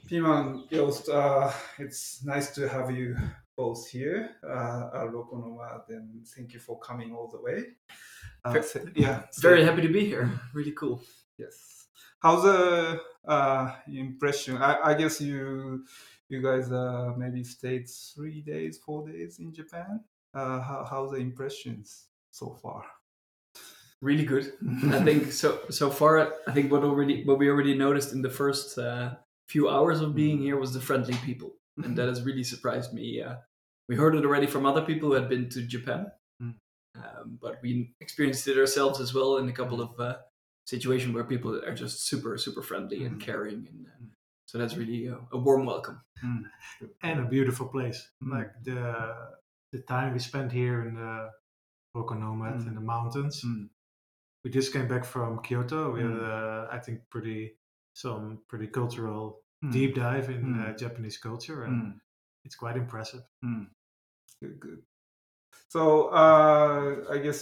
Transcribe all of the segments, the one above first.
Piman, Yost, it's nice to have you both here at Rokonoma, and thank you for coming all the way. Yeah, Very happy to be here. Really cool. yes. How's the impression? I guess you guys maybe stayed 3 days, 4 days in Japan. How's the impressions so far? Really good. I think so far. I think what we already noticed in the first few hours of being here was the friendly people, and that has really surprised me. We heard it already from other people who had been to Japan, but we experienced it ourselves as well in a couple of situations where people are just super friendly and caring, and so that's really a warm welcome. And a beautiful place. Like the time we spent here in the Rokonomet in the mountains. We just came back from Kyoto. We had, I think, some pretty cultural deep dive in Japanese culture, and it's quite impressive. Good. So I guess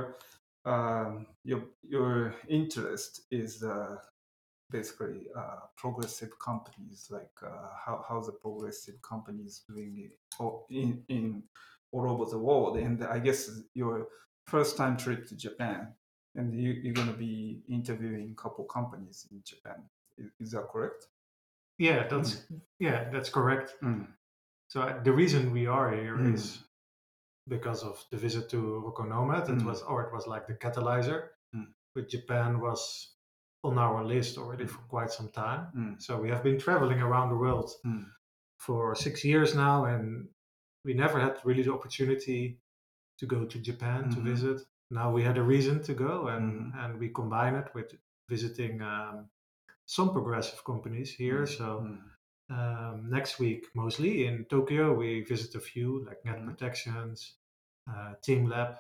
your interest is basically progressive companies, like how the progressive companies doing it in all over the world. And I guess your first time trip to Japan, and you're going to be interviewing a couple companies in Japan. Is that correct? Yeah, that's correct. So the reason we are here is because of the visit to Rokonomet. It was like the catalyzer. But Japan was on our list already for quite some time. So we have been traveling around the world for 6 years now, and we never had really the opportunity to go to Japan to visit. Now we had a reason to go, and we combine it with visiting some progressive companies here. So next week, mostly in Tokyo, we visit a few like Net Protections, Team Lab,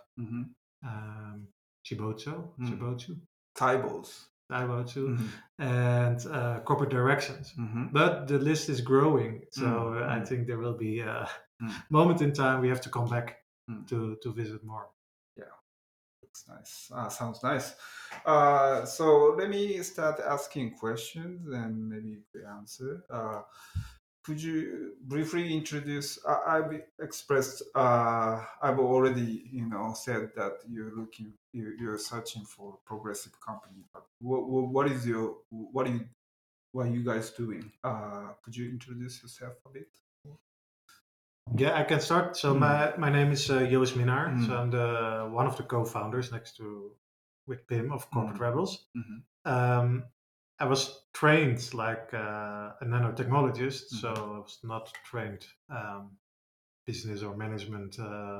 Chibotsu, Taibotsu, and Corporate Directions. But the list is growing, so I think there will be a moment in time we have to come back to visit more. Yeah, looks nice. Sounds nice. So let me start asking questions and maybe you answer. Could you briefly introduce? I've expressed. I've already, said that you're searching for progressive company. But what is what are you guys doing? Could you introduce yourself a bit? Yeah, I can start. So my name is Joost Minnaar. So I'm one of the co-founders next to with Pim of Corporate Rebels. I was trained like a nanotechnologist, so I was not trained business or management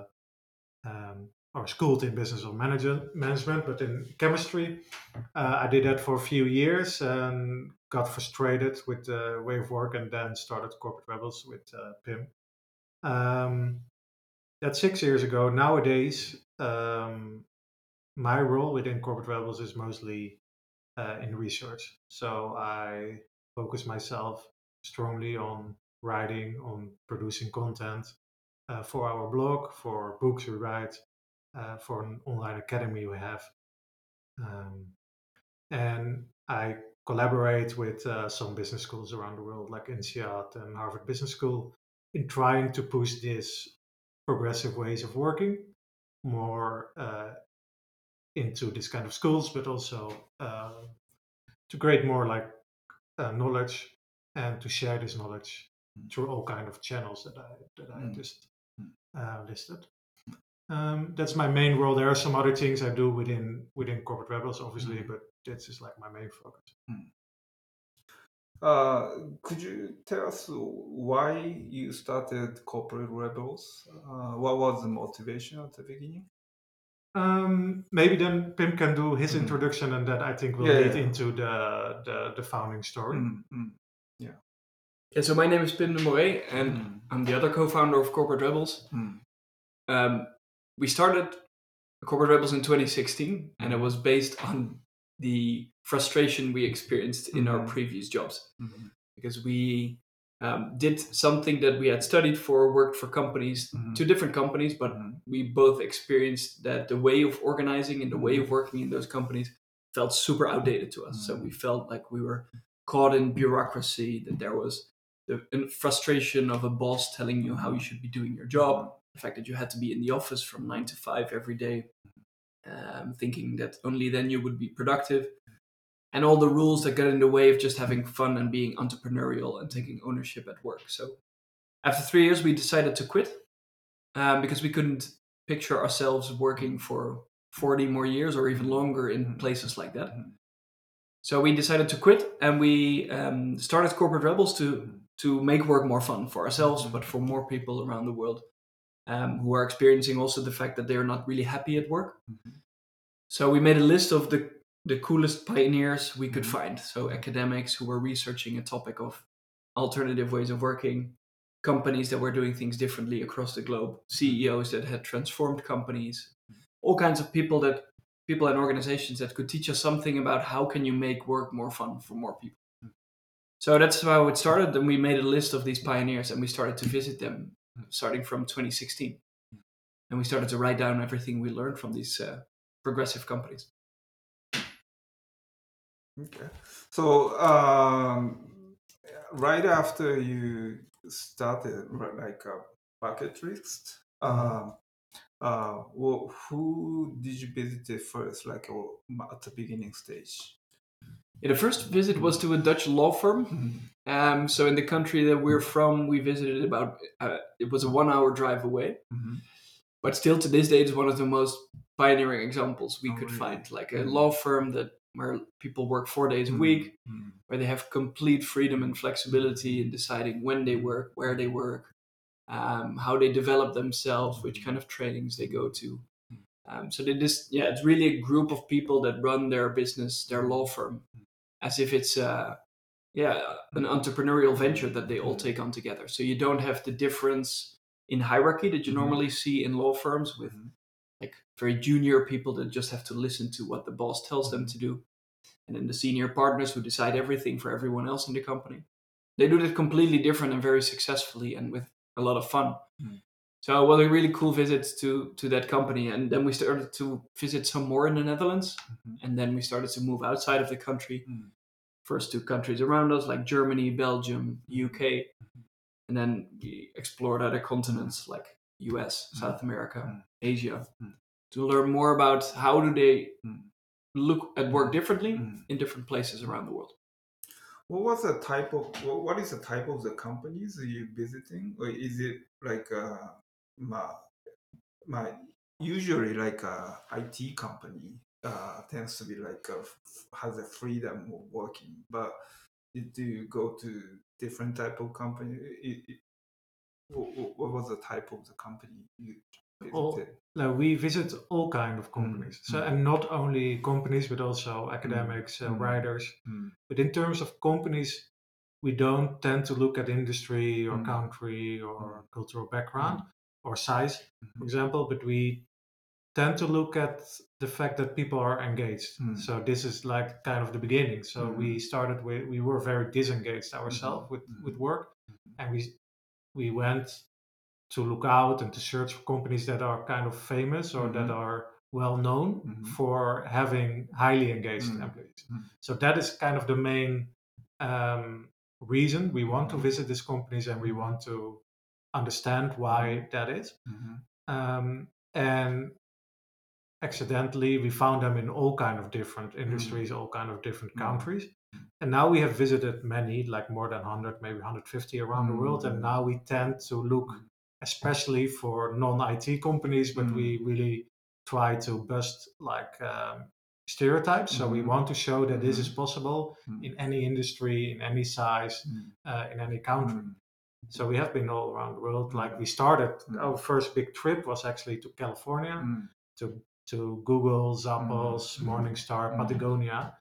or schooled in business or management, but in chemistry. I did that for a few years and got frustrated with the way of work, and then started Corporate Rebels with Pim. That's 6 years ago. Nowadays, my role within Corporate Rebels is mostly in research. So I focus myself strongly on writing, on producing content for our blog, for books we write, for an online academy we have. And I collaborate with some business schools around the world, like INSEAD and Harvard Business School, in trying to push this progressive ways of working more into this kind of schools, but also to create more like knowledge and to share this knowledge through all kind of channels that I just listed. That's my main role. There are some other things I do within Corporate Rebels, obviously, but this is like my main focus. Could you tell us why you started Corporate Rebels? What was the motivation at the beginning? Maybe then Pim can do his introduction, and that I think will lead into the founding story. Yeah. Yeah. So my name is Pim de Moray, and I'm the other co-founder of Corporate Rebels. We started Corporate Rebels in 2016, and it was based on the frustration we experienced in our previous jobs, because we did something that we had studied for, worked for companies, two different companies, but we both experienced that the way of organizing and the way of working in those companies felt super outdated to us. So we felt like we were caught in bureaucracy, that there was the frustration of a boss telling you how you should be doing your job, the fact that you had to be in the office from 9 to 5 every day, thinking that only then you would be productive, and all the rules that get in the way of just having fun and being entrepreneurial and taking ownership at work. So after 3 years, we decided to quit because we couldn't picture ourselves working for 40 more years or even longer in places like that. So we decided to quit, and we started Corporate Rebels to make work more fun for ourselves, but for more people around the world who are experiencing also the fact that they're not really happy at work. So we made a list of the coolest pioneers we could find. So academics who were researching a topic of alternative ways of working, companies that were doing things differently across the globe, CEOs that had transformed companies, all kinds of people and organizations that could teach us something about how can you make work more fun for more people. So that's how it started. And we made a list of these pioneers, and we started to visit them starting from 2016. And we started to write down everything we learned from these progressive companies. Okay. So right after you started like a bucket list, who did you visit first, like at the beginning stage? Yeah, the first visit was to a Dutch law firm. So in the country that we're from, we visited about, it was a 1 hour drive away. But still to this day, it's one of the most pioneering examples we could find. Like a law firm where people work 4 days a week, where they have complete freedom and flexibility in deciding when they work, where they work, how they develop themselves, which kind of trainings they go to. So it's really a group of people that run their business, their law firm, as if it's an entrepreneurial venture that they all take on together. So you don't have the difference in hierarchy that you normally see in law firms with like very junior people that just have to listen to what the boss tells them to do, and then the senior partners who decide everything for everyone else in the company. They do that completely different and very successfully and with a lot of fun. So it was a really cool visit to that company. And then we started to visit some more in the Netherlands. And then we started to move outside of the country. First to countries around us like Germany, Belgium, UK. And then we explored other continents like US, South America, Asia, to learn more about how do they look at work differently in different places around the world. What is the type of the companies you're visiting? Or is it like usually like a IT company tends to be like has a freedom of working, but do you go to different type of company? What was the type of the company you visited? We visit all kind of companies. And not only companies, but also academics, writers. But in terms of companies, we don't tend to look at industry or country or cultural background or size, for example, but we tend to look at the fact that people are engaged. So this is like kind of the beginning. So we started we were very disengaged ourselves with work, and we went to look out and to search for companies that are kind of famous or that are well known for having highly engaged employees. So that is kind of the main reason we want to visit these companies, and we want to understand why that is. And accidentally, we found them in all kind of different industries, all kind of different countries. And now we have visited many, like more than 100, maybe 150 around the world. And now we tend to look especially for non-IT companies, but we really try to bust like stereotypes. So we want to show that this is possible in any industry, in any size, in any country. So we have been all around the world. Like we started, our first big trip was actually to California, to Google, Zappos, Morningstar, Patagonia.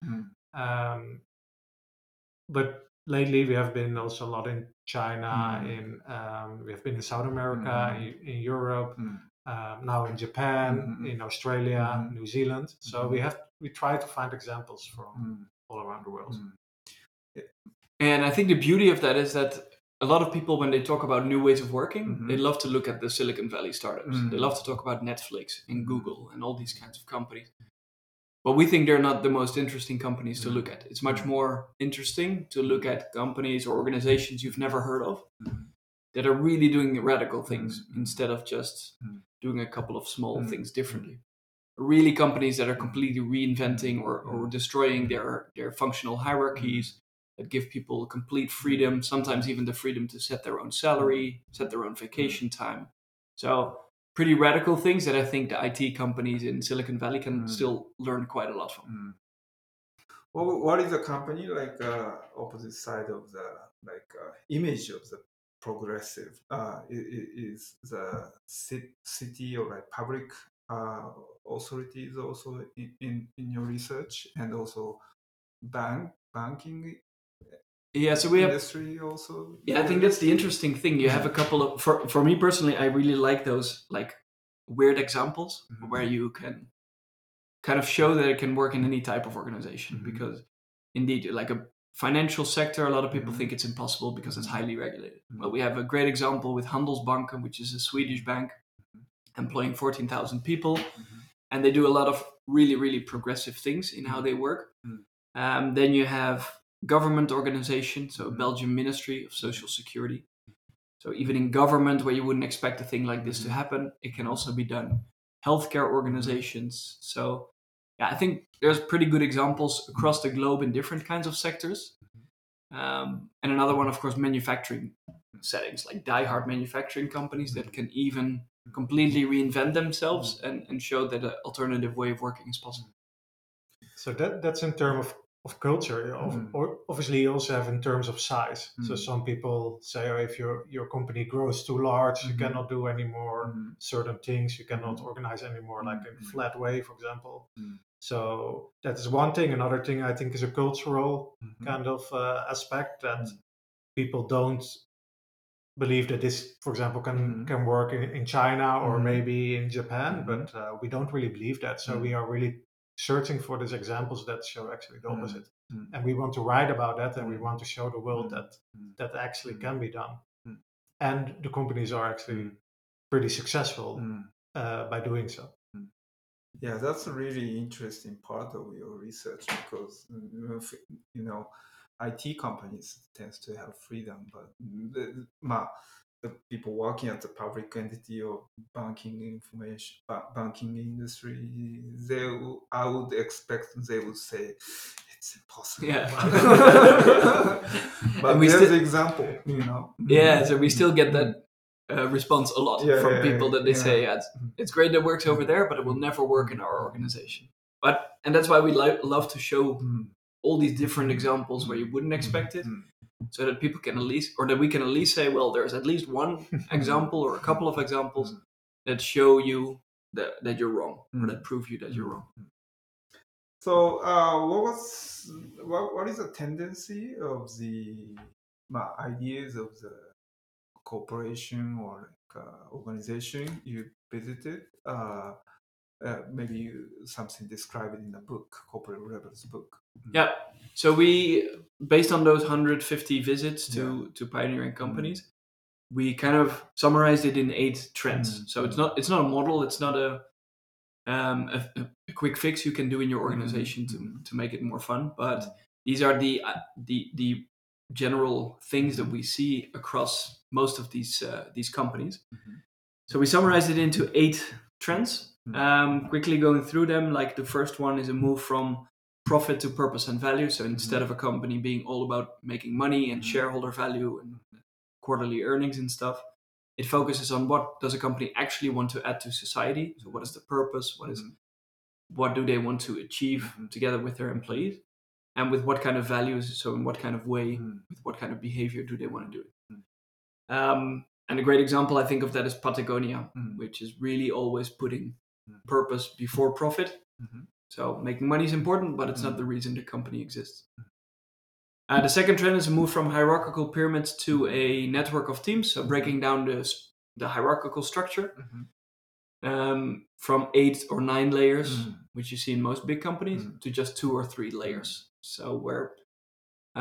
But lately we have been also a lot in China, we have been in South America, in Europe, now in Japan, in Australia, New Zealand. So we try to find examples from all around the world. And I think the beauty of that is that a lot of people, when they talk about new ways of working, they love to look at the Silicon Valley startups. They love to talk about Netflix and Google and all these kinds of companies. but we think they're not the most interesting companies to look at. It's much more interesting to look at companies or organizations you've never heard of that are really doing radical things instead of just doing a couple of small things differently. Really companies that are completely reinventing or destroying their functional hierarchies, that give people complete freedom, sometimes even the freedom to set their own salary, set their own vacation time. So pretty radical things that I think the IT companies in Silicon Valley can still learn quite a lot from. Well, what is a company like opposite side of the image of the progressive? Is the city or like public authorities also in your research, and also banking so we have industry also? I think that's the interesting thing. You have a couple of for me personally, I really like those like weird examples where you can kind of show that it can work in any type of organization, because indeed, like a financial sector, a lot of people think it's impossible because it's highly regulated. Well, we have a great example with Handelsbanken, which is a Swedish bank employing 14,000 people, and they do a lot of really, really progressive things in how they work. Then you have government organizations, so Belgian Ministry of Social Security. So even in government, where you wouldn't expect a thing like this to happen, it can also be done. Healthcare organizations. So I think there's pretty good examples across the globe in different kinds of sectors. And another one, of course, manufacturing settings, like diehard manufacturing companies that can even completely reinvent themselves and show that an alternative way of working is possible. So that's in terms of culture. Or obviously, you also have in terms of size. So some people say, if your company grows too large, you cannot do any more certain things. You cannot organize anymore, like in flat way, for example. So that is one thing. Another thing I think is a cultural kind of aspect, that people don't believe that this, for example, can work in China or maybe in Japan, but we don't really believe that. So we are really searching for these examples that show actually the opposite. And we want to write about that, and we want to show the world that actually can be done. And the companies are actually pretty successful by doing so. Yeah, that's a really interesting part of your research, because IT companies tends to have freedom, but the people working at the public entity or banking industry, I would expect they would say it's impossible. Yeah. But there's the example, Yeah, so we still get that response a lot from people that they say, it's great that it works over there, but it will never work in our organization. And that's why we love to show all these different examples where you wouldn't expect it, so that people can that we can at least say, well, there's at least one example or a couple of examples that show you that you're wrong, or that prove you that you're wrong. So, what is the tendency of the ideas of the corporation or organization you visited? Maybe something described in the book, Corporate Rebels book. Yeah. So we, based on those 150 visits to pioneering companies, we kind of summarized it in 8 trends. So it's not a model. It's not a quick fix you can do in your organization to make it more fun. But these are the general things that we see across most of these companies. So we summarized it into 8 trends. Quickly going through them, like the first one is a move from profit to purpose and value. So instead of a company being all about making money and shareholder value and quarterly earnings and stuff, it focuses on what does a company actually want to add to society. So what is the purpose? What do they want to achieve together with their employees? And with what kind of values, so in what kind of way, with what kind of behavior do they want to do it? And a great example, I think, of that is Patagonia, which is really always putting purpose before profit. So making money is important, but it's not the reason the company exists. The second trend is a move from hierarchical pyramids to a network of teams, so breaking down the hierarchical structure from 8 or 9 layers, which you see in most big companies, to just 2 or 3 layers. So where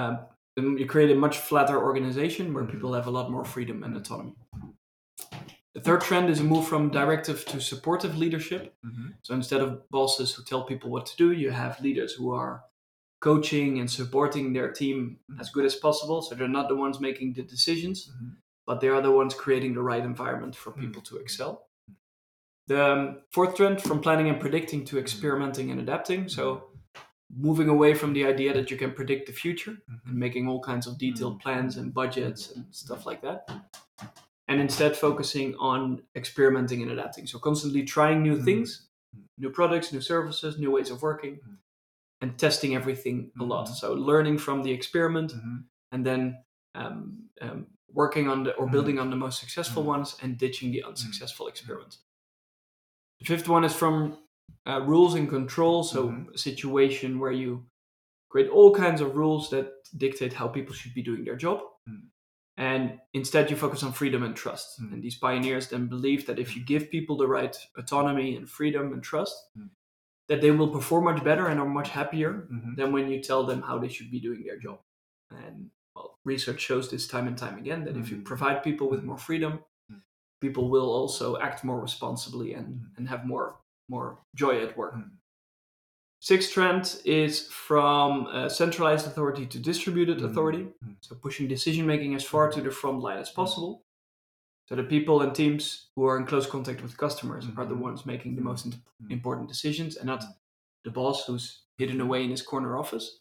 you create a much flatter organization where people have a lot more freedom and autonomy. The third trend is a move from directive to supportive leadership. Mm-hmm. So instead of bosses who tell people what to do, you have leaders who are coaching and supporting their team as good as possible. So they're not the ones making the decisions, but they are the ones creating the right environment for people to excel. The fourth trend, from planning and predicting to experimenting and adapting. So moving away from the idea that you can predict the future and making all kinds of detailed plans and budgets and stuff like that. And instead focusing on experimenting and adapting. So constantly trying new things, new products, new services, new ways of working, and testing everything a lot. So learning from the experiment and then working on or building on the most successful ones and ditching the unsuccessful experiments. The fifth one is from rules and control. So a situation where you create all kinds of rules that dictate how people should be doing their job. And instead you focus on freedom and trust. And these pioneers then believe that if you give people the right autonomy and freedom and trust, that they will perform much better and are much happier than when you tell them how they should be doing their job. And research shows this time and time again, that if you provide people with more freedom, people will also act more responsibly and have more joy at work. Sixth trend is from centralized authority to distributed authority. So pushing decision-making as far to the front line as possible. So the people and teams who are in close contact with customers are the ones making the most important decisions, and not the boss who's hidden away in his corner office.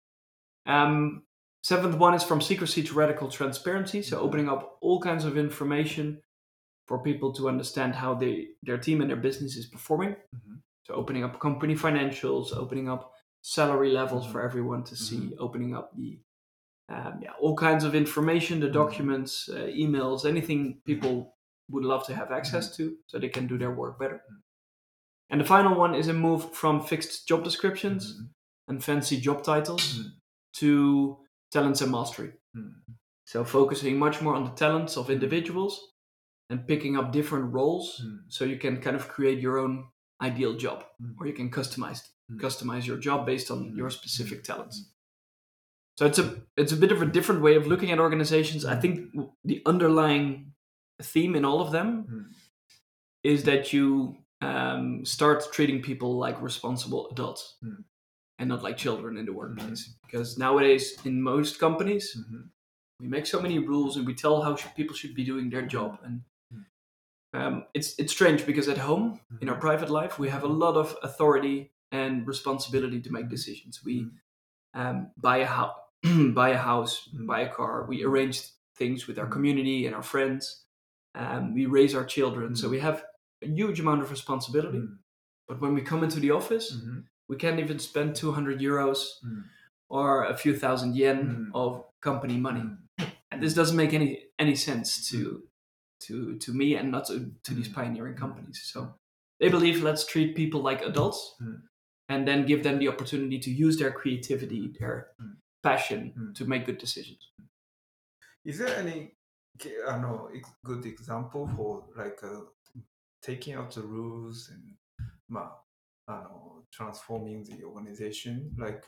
Seventh one is from secrecy to radical transparency. So opening up all kinds of information for people to understand how their team and their business is performing. So opening up company financials, opening up salary levels for everyone to see, opening up the all kinds of information, the documents, emails, anything people would love to have access to so they can do their work better. And the final one is a move from fixed job descriptions and fancy job titles to talents and mastery. So focusing much more on the talents of individuals and picking up different roles so you can kind of create your own ideal job, or you can customize your job based on your specific talents. So it's a bit of a different way of looking at organizations. I think the underlying theme in all of them is that you start treating people like responsible adults and not like children in the workplace. Because nowadays, in most companies, we make so many rules and we tell how people should be doing their job. And it's strange because at home, in our private life, we have a lot of authority and responsibility to make decisions. We buy a house, buy a car. We arrange things with our community and our friends. We raise our children. So we have a huge amount of responsibility. But when we come into the office, we can't even spend 200 euros or a few thousand yen of company money. And this doesn't make any sense to me and not to these pioneering companies. So they believe, let's treat people like adults and then give them the opportunity to use their creativity, their passion to make good decisions. Is there any good example for like taking out the rules and transforming the organization, like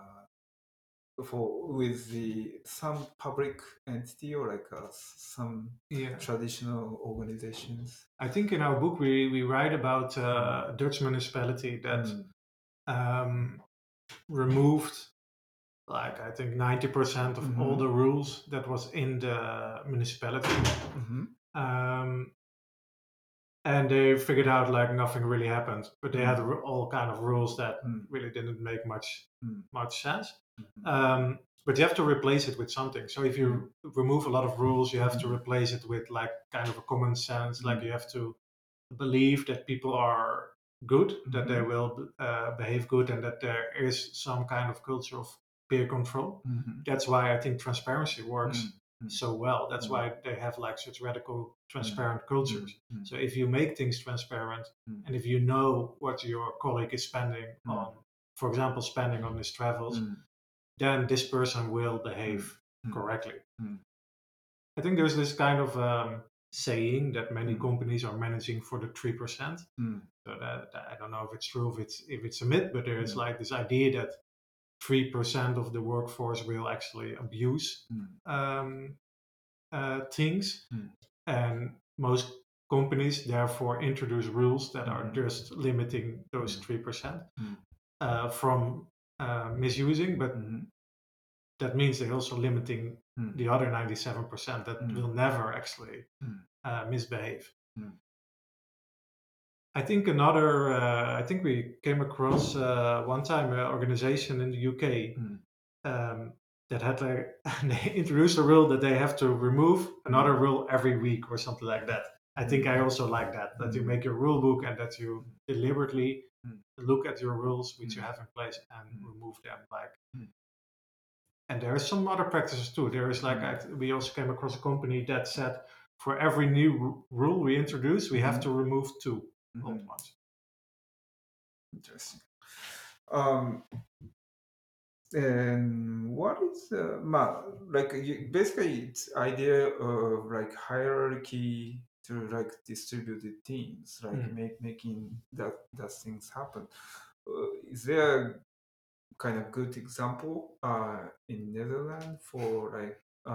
with some public entity or like some traditional organizations? I think in our book we write about a Dutch municipality that removed, like, I think 90% of all the rules that was in the municipality. And they figured out like nothing really happened, but they had all kind of rules that really didn't make much sense. But you have to replace it with something. So if you remove a lot of rules, you have to replace it with like kind of a common sense. Like you have to believe that people are good, that they will behave good, and that there is some kind of culture of peer control. That's why I think transparency works so well. That's why they have like such radical transparent cultures. So if you make things transparent and if you know what your colleague is spending on, for example, spending on his travels, then this person will behave correctly. I think there's this kind of saying that many companies are managing for the 3%. So that, I don't know if it's true, if it's a myth, but there is like this idea that 3% of the workforce will actually abuse things, and most companies therefore introduce rules that are just limiting those 3% from misusing, but that means they're also limiting the other 97% that will never actually misbehave. I think I think we came across one time an organization in the UK that had they introduced a rule that they have to remove another rule every week or something like that. I think I also like that you make your rule book and that you deliberately look at your rules which you have in place and remove them. And there are some other practices too. There is we also came across a company that said for every new rule we introduce, we have to remove 2 old ones. Interesting. And what is basically it's idea of hierarchy to distributed teams, making that things happen. Is there a kind of good example in Netherlands for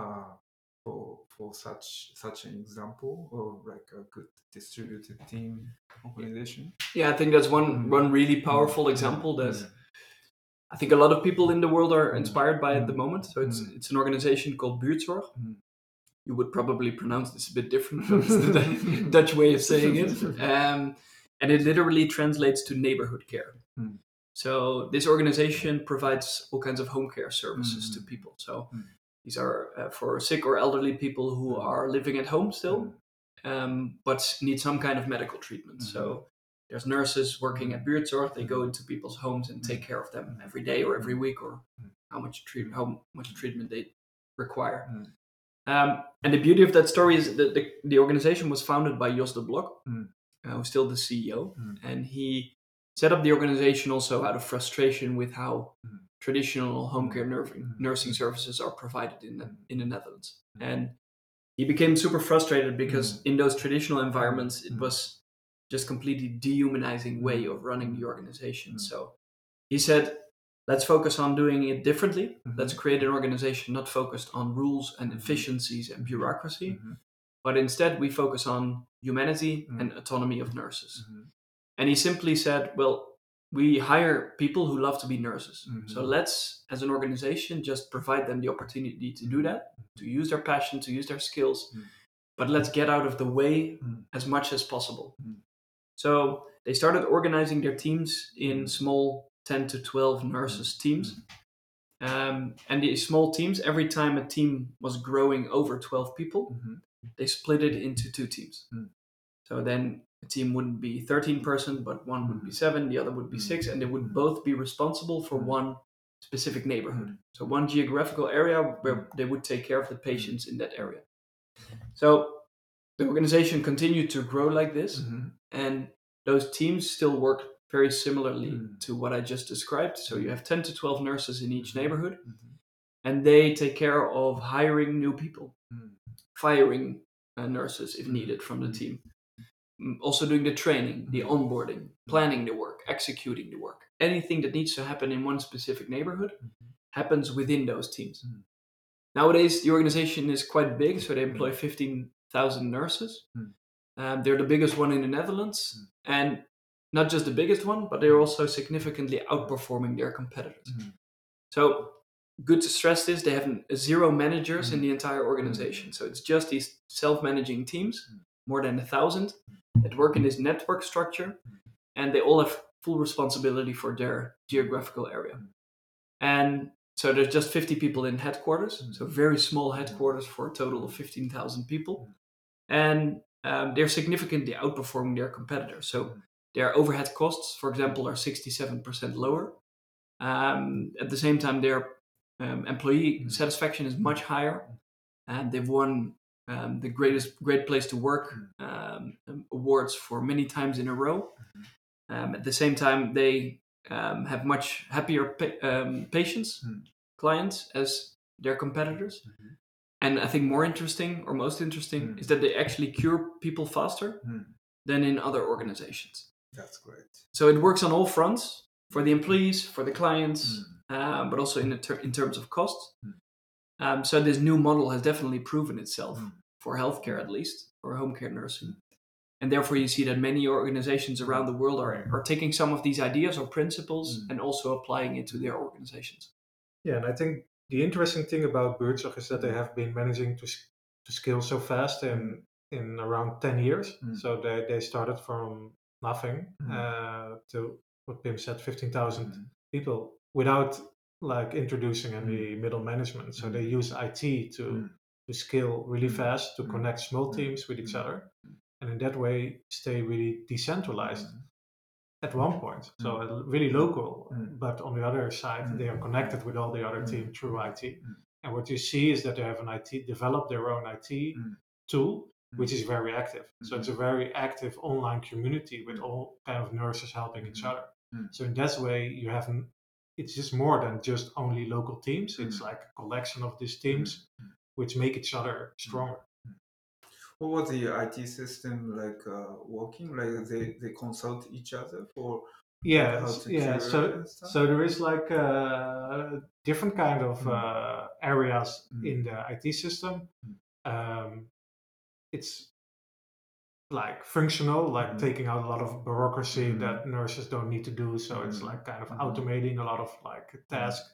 for such an example of a good distributed team organization? Yeah, I think that's one really powerful example that I think a lot of people in the world are inspired by at the moment. So it's an organization called Buurtzorg. You would probably pronounce this a bit different, but it's the Dutch way of saying it. And it literally translates to neighborhood care. So this organization provides all kinds of home care services to people. So these are for sick or elderly people who are living at home still, but need some kind of medical treatment. So there's nurses working at Buurtzorg. They go into people's homes and take care of them every day or every week, or how much treatment they require. And the beauty of that story is that the organization was founded by Jos de Blok, who's still the CEO, and he set up the organization also out of frustration with how traditional home care nursing services are provided in the Netherlands. And he became super frustrated because in those traditional environments, it was just completely dehumanizing way of running the organization. So he said, let's focus on doing it differently. Let's create an organization not focused on rules and efficiencies and bureaucracy, but instead we focus on humanity and autonomy of nurses. And he simply said, well, we hire people who love to be nurses. So let's, as an organization, just provide them the opportunity to do that, to use their passion, to use their skills, but let's get out of the way as much as possible. So they started organizing their teams in small 10 to 12 nurses teams. And these small teams, every time a team was growing over 12 people, they split it into 2 teams. So then a team wouldn't be 13 persons, but one would be 7, the other would be 6, and they would both be responsible for one specific neighborhood. So one geographical area where they would take care of the patients in that area. So the organization continued to grow like this, and those teams still work very similarly to what I just described. So you have 10 to 12 nurses in each neighborhood, and they take care of hiring new people, firing nurses if needed from the team, also doing the training, the onboarding, planning the work, executing the work. Anything that needs to happen in one specific neighborhood happens within those teams. Nowadays, the organization is quite big, so they employ 15,000 nurses. They're the biggest one in the Netherlands, and not just the biggest one, but they're also significantly outperforming their competitors. So, good to stress this, they have 0 managers in the entire organization. So it's just these self-managing teams, more than 1,000, that work in this network structure, and they all have full responsibility for their geographical area. And so there's just 50 people in headquarters, so very small headquarters for a total of 15,000 people. And they're significantly outperforming their competitors. So their overhead costs, for example, are 67% lower. At the same time, their employee satisfaction is much higher. And they've won the Great Place to Work awards for many times in a row. At the same time, they have much happier patients, clients, as their competitors. And I think more interesting, or most interesting, is that they actually cure people faster than in other organizations. That's great. So it works on all fronts, for the employees, for the clients, but also in terms of cost. So this new model has definitely proven itself, for healthcare at least, for home care nursing. And therefore, you see that many organizations around the world are taking some of these ideas or principles and also applying it to their organizations. Yeah, and I think the interesting thing about Buurtzorg is that they have been managing to scale so fast in around 10 years. So they started from nothing to what Pim said, 15,000 people without like introducing any middle management. So they use IT to scale really fast, to connect small teams with each other, and in that way stay really decentralized at one point. So really local, but on the other side, they are connected with all the other team through IT. And what you see is that they have developed their own IT tool, which is very active. So it's a very active online community with all kind of nurses helping each other. So in that way, it's just more than just only local teams. It's like a collection of these teams which make each other stronger. What was the IT system like working? Like they consult each other for how to cure and stuff? So there is like different kind of areas in the IT system. It's like functional, like taking out a lot of bureaucracy that nurses don't need to do. So it's like kind of automating a lot of like tasks.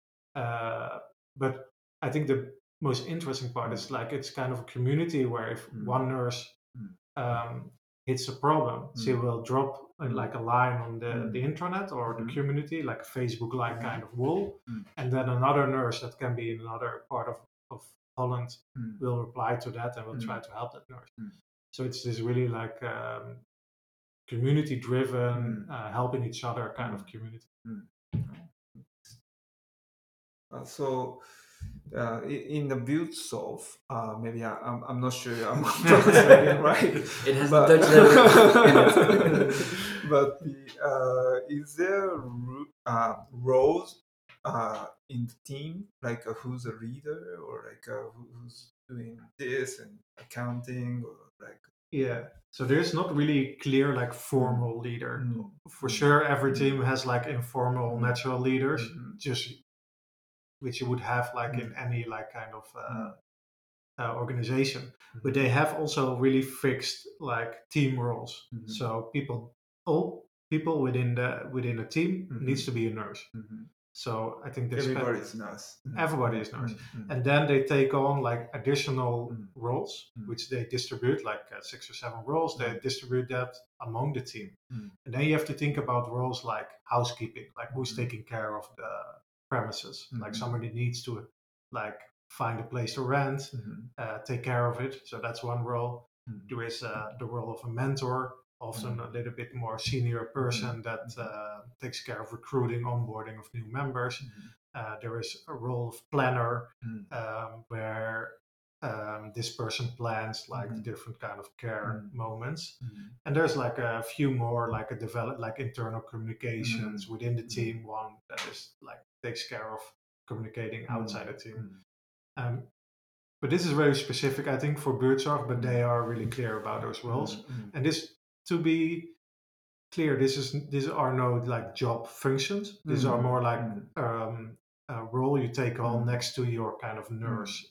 But I think the most interesting part is like it's kind of a community where if one nurse hits a problem, she will drop like a line on the intranet or the community, like a Facebook like kind of wall, and then another nurse that can be in another part of Holland will reply to that and will try to help that nurse. So it's this really like community driven, helping each other kind of community. So in the Buurtzorg, maybe I'm not sure I'm translating right. It has the Dutch level in it. But is there roles in the team, like who's a leader or like who's doing this and accounting or like? Yeah, so there's not really clear like formal leader. For sure, every team has like informal natural leaders, just which you would have like in any like kind of organization. But they have also really fixed like team roles. So all people within a team needs to be a nurse. So I think everybody is nurse. Everybody is nurse, and then they take on like additional roles, which they distribute like 6 or 7 roles. They distribute that among the team, and then you have to think about roles like housekeeping, like who's taking care of the premises, like somebody needs to like find a place to rent, take care of it. So that's one role. There is the role of a mentor, often a little bit more senior person that takes care of recruiting, onboarding of new members. There is a role of planner where this person plans like the different kind of care moments. And there's like a few more like internal communications within the team. One that is like takes care of communicating outside the team. But this is very specific, I think, for Buurtzorg, but they are really clear about those roles. And this, to be clear, these are no like job functions. These are more like a role you take on next to your kind of nurse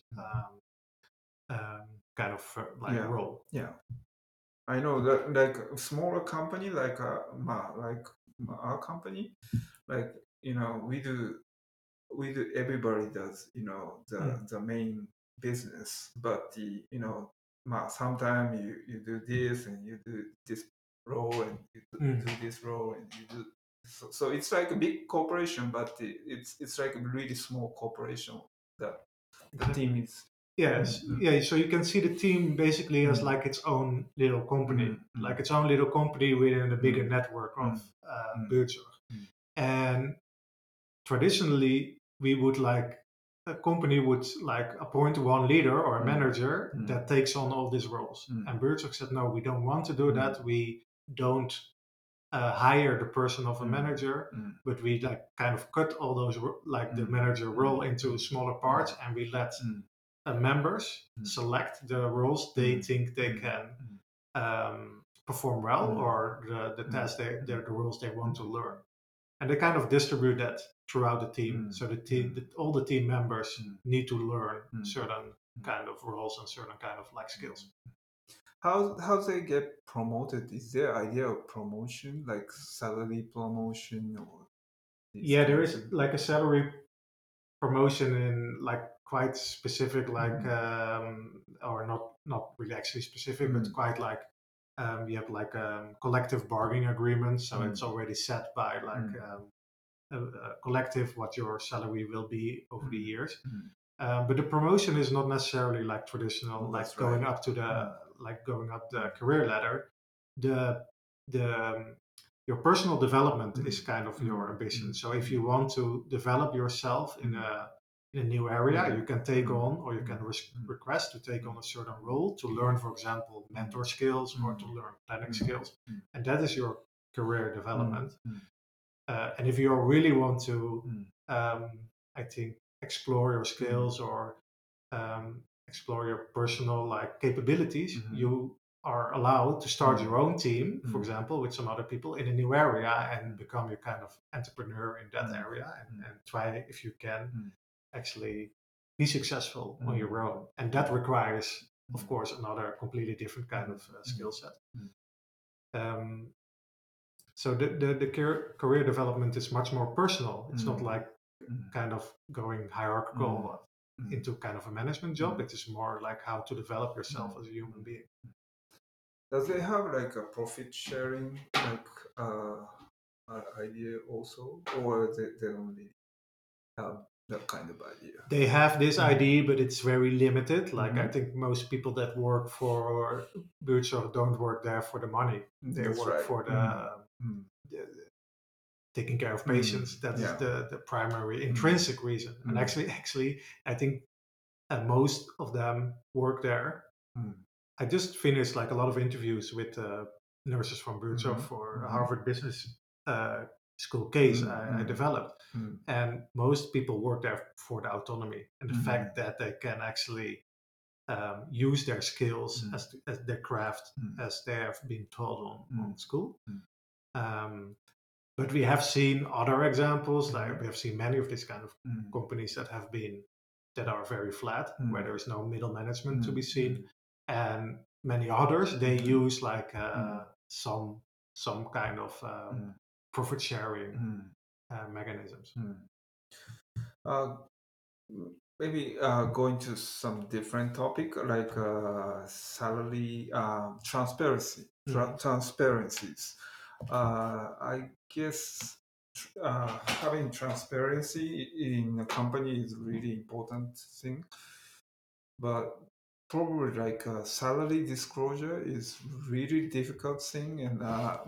kind of role. Yeah, I know that like a smaller company like our company, like we do everybody does the main business, but sometimes you do this and you do this role and you do this role and you do so it's like a big corporation, but it's like a really small corporation that the team is. Yes, yeah. So you can see the team basically as like its own little company, like its own little company within a bigger network of Buurtzorg. And traditionally, we would like a company would like appoint one leader or a manager that takes on all these roles. And Buurtzorg said, no, we don't want to do that. We don't hire the person of a manager, but we like kind of cut all those like the manager role into smaller parts, and we let members select the roles they think they can perform well, or the tasks the roles they want to learn. And they kind of distribute that throughout the team. So all the team members need to learn certain kind of roles and certain kind of like skills. how they get promoted? Is there idea of promotion, like salary promotion or these Yeah, there kind of is things? like a salary promotion in like quite specific, like or not really actually specific, but quite like you have like collective bargaining agreements, so it's already set by like a collective what your salary will be over the years. But the promotion is not necessarily like traditional, like That's right. going up to the like going up the career ladder. The the your personal development is kind of your ambition. So if you want to develop yourself in a new area, you can take on or you can request to take on a certain role to learn, for example, mentor skills or to learn planning skills, and that is your career development. And if you really want to, I think, explore your skills or explore your personal like capabilities, you are allowed to start your own team, for example, with some other people in a new area and become your kind of entrepreneur in that area and try if you can actually be successful on your own. And that requires, of course, another completely different kind of skill set. Um, so the career development is much more personal. It's not like kind of going hierarchical into kind of a management job. It is more like how to develop yourself as a human being. Does they have like a profit sharing like idea also, or they only have that kind of idea? They have this idea, but it's very limited. Like I think most people that work for Buurtzorg don't work there for the money. They That's work right. for the taking care of patients. That is the primary intrinsic reason. And actually, I think most of them work there. I just finished like a lot of interviews with nurses from Buurtzorg for a Harvard Business School case I developed, and most people work there for the autonomy and the fact that they can actually use their skills as their craft as they have been taught on school. But we have seen other examples, like we have seen many of these kind of companies that are very flat, where there is no middle management to be seen, and many others they use like some kind of profit sharing mechanisms. Uh, Maybe going to some different topic like salary transparency transparencies. I guess having transparency in a company is really important thing, but probably like salary disclosure is really difficult thing, and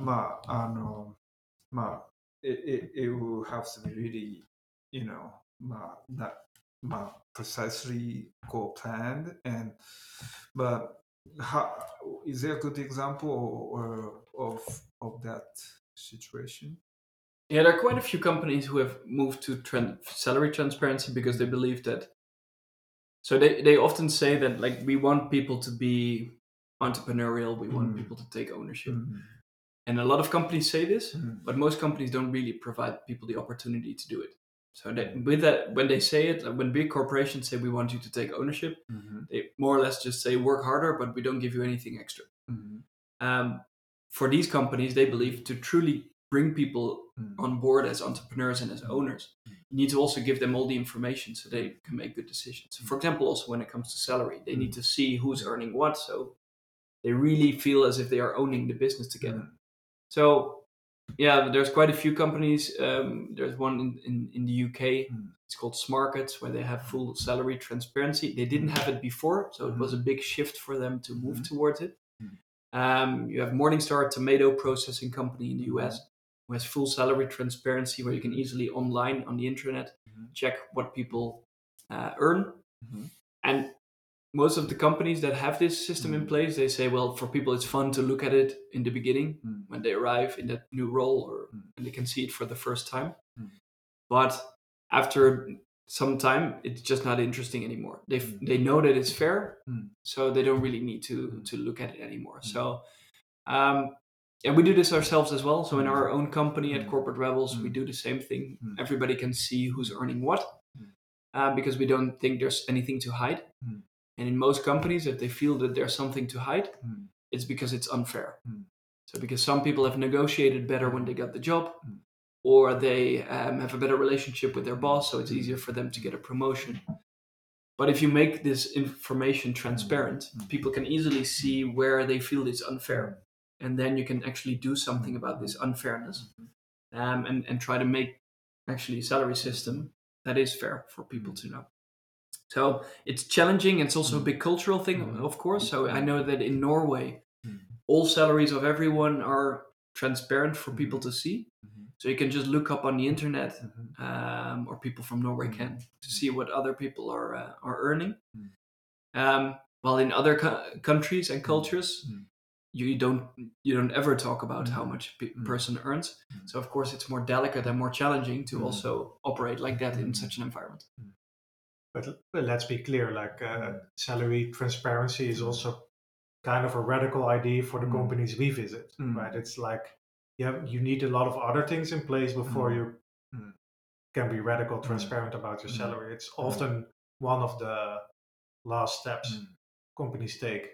it will have to be really, not precisely goal planned, and but how is there a good example of that situation? Yeah, there are quite a few companies who have moved to salary transparency because they believe that. So they often say that like we want people to be entrepreneurial, we want people to take ownership. And a lot of companies say this, but most companies don't really provide people the opportunity to do it. So with that, when they say it, like when big corporations say we want you to take ownership, they more or less just say work harder, but we don't give you anything extra. For these companies, they believe to truly bring people on board as entrepreneurs and as owners, you need to also give them all the information so they can make good decisions. For example, also when it comes to salary, they need to see who's earning what, so they really feel as if they are owning the business together. So, yeah, there's quite a few companies. There's one in the UK. It's called Smarkets, where they have full salary transparency. They didn't have it before, so it was a big shift for them to move towards it. You have Morningstar, tomato processing company in the US, who has full salary transparency, where you can easily online on the internet check what people earn. And most of the companies that have this system in place, they say, well, for people, it's fun to look at it in the beginning when they arrive in that new role or when they can see it for the first time. But after some time, it's just not interesting anymore. They know that it's fair, so they don't really need to look at it anymore. So, and we do this ourselves as well. So in our own company at Corporate Rebels, we do the same thing. Everybody can see who's earning what, because we don't think there's anything to hide. And in most companies, if they feel that there's something to hide, it's because it's unfair. So because some people have negotiated better when they got the job, or they have a better relationship with their boss, so it's easier for them to get a promotion. But if you make this information transparent, people can easily see where they feel it's unfair. And then you can actually do something about this unfairness, and try to make actually a salary system that is fair for people to know. So it's challenging. It's also a big cultural thing, of course. So I know that in Norway, all salaries of everyone are transparent for people to see. So you can just look up on the internet, or people from Norway can, to see what other people are earning. While in other countries and cultures, you don't ever talk about how much a person earns. So of course it's more delicate and more challenging to also operate like that in such an environment. But let's be clear, like salary transparency is also kind of a radical idea for the companies we visit, right? It's like, you need a lot of other things in place before you can be radical transparent about your salary. It's often one of the last steps companies take.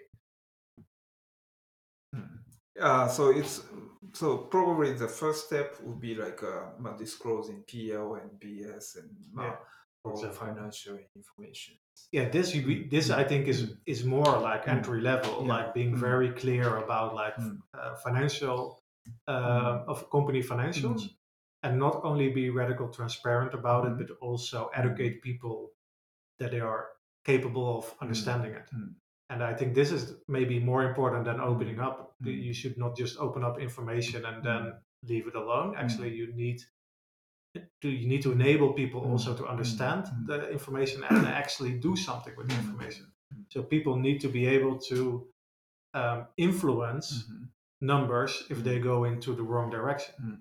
So probably the first step would be like disclosing PL and BS and all financial information. Yeah, this I think is more like entry level, like being very clear about like financial of company financials, and not only be radical transparent about it, but also educate people that they are capable of understanding it. And I think this is maybe more important than opening up. You should not just open up information and then leave it alone. Actually, you need to enable people also to understand the information and actually do something with the information. So people need to be able to influence numbers if they go into the wrong direction.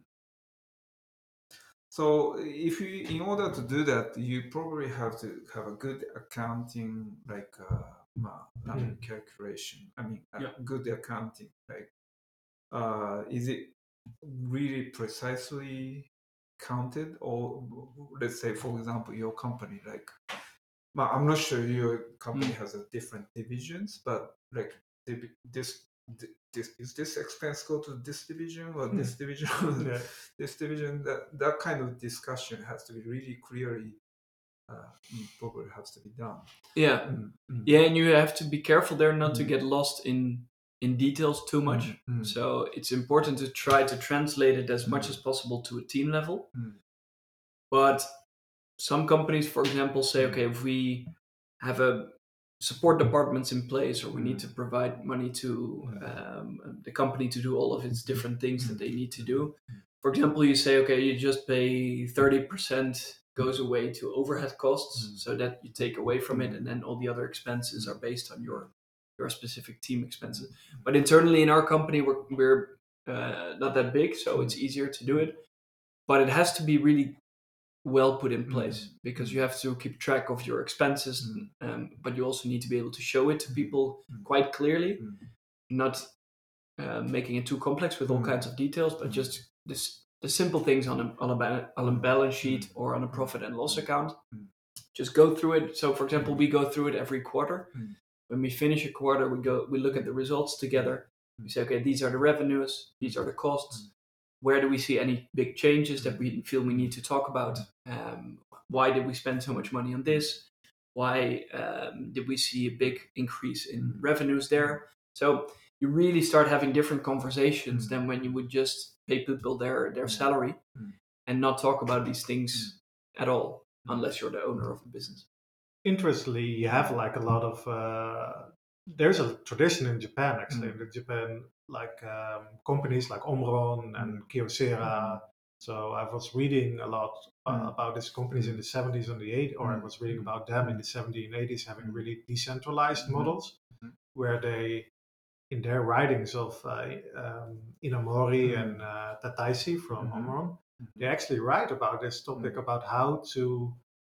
So in order to do that, you probably have to have a good accounting, like calculation. Good accounting. Like, is it really precisely counted, or let's say, for example, your company, like, I'm not sure your company has a different divisions, but like this is this expense go to this division or this division, this division? That kind of discussion has to be really clearly probably has to be done. Yeah, and you have to be careful there not to get lost in details too much. So it's important to try to translate it as much as possible to a team level. But some companies, for example, say, okay, if we have a support departments in place, or we need to provide money to the company to do all of its different things that they need to do. For example, you say, okay, you just pay 30% goes away to overhead costs, so that you take away from it, and then all the other expenses are based on your specific team expenses. But internally in our company, we're not that big, so it's easier to do it. But it has to be really well put in place, because you have to keep track of your expenses, but you also need to be able to show it to people quite clearly, not making it too complex with all kinds of details, but just the simple things on a balance sheet or on a profit and loss account. Just go through it. So, for example, we go through it every quarter. When we finish a quarter, we look at the results together. We say, okay, these are the revenues, these are the costs. Where do we see any big changes that we feel we need to talk about? Why did we spend so much money on this? Why did we see a big increase in revenues there? So you really start having different conversations than when you would just pay people their salary and not talk about these things at all, unless you're the owner of the business. Interestingly, you have like a lot of there's a tradition in Japan, actually. In Japan, like companies like Omron and Kyocera. So I was reading a lot about these companies in the 70s and the 80s, or I was reading about them in the 70s and 80s having really decentralized models, where they, in their writings of Inamori and Tataisi from Omron, they actually write about this topic, about how to